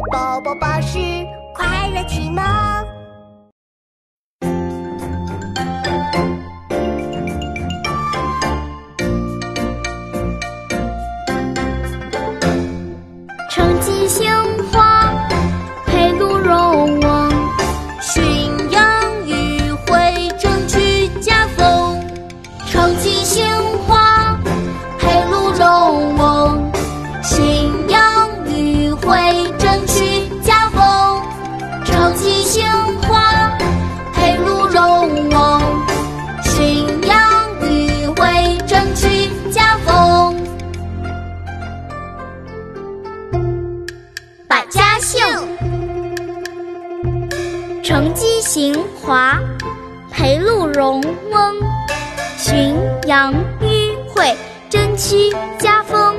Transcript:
宝宝巴士快乐启蒙。 成吉兴化，配鹿戎王， 驯养迂回，争取家风。 成吉兴化，配鹿戎王， 驯养迂回，争取家风。 成吉兴化， 配鹿戎王，驯养迂回，争取家风。百家姓： 成吉兴化，配鹿戎王，驯养迂回，争取家风。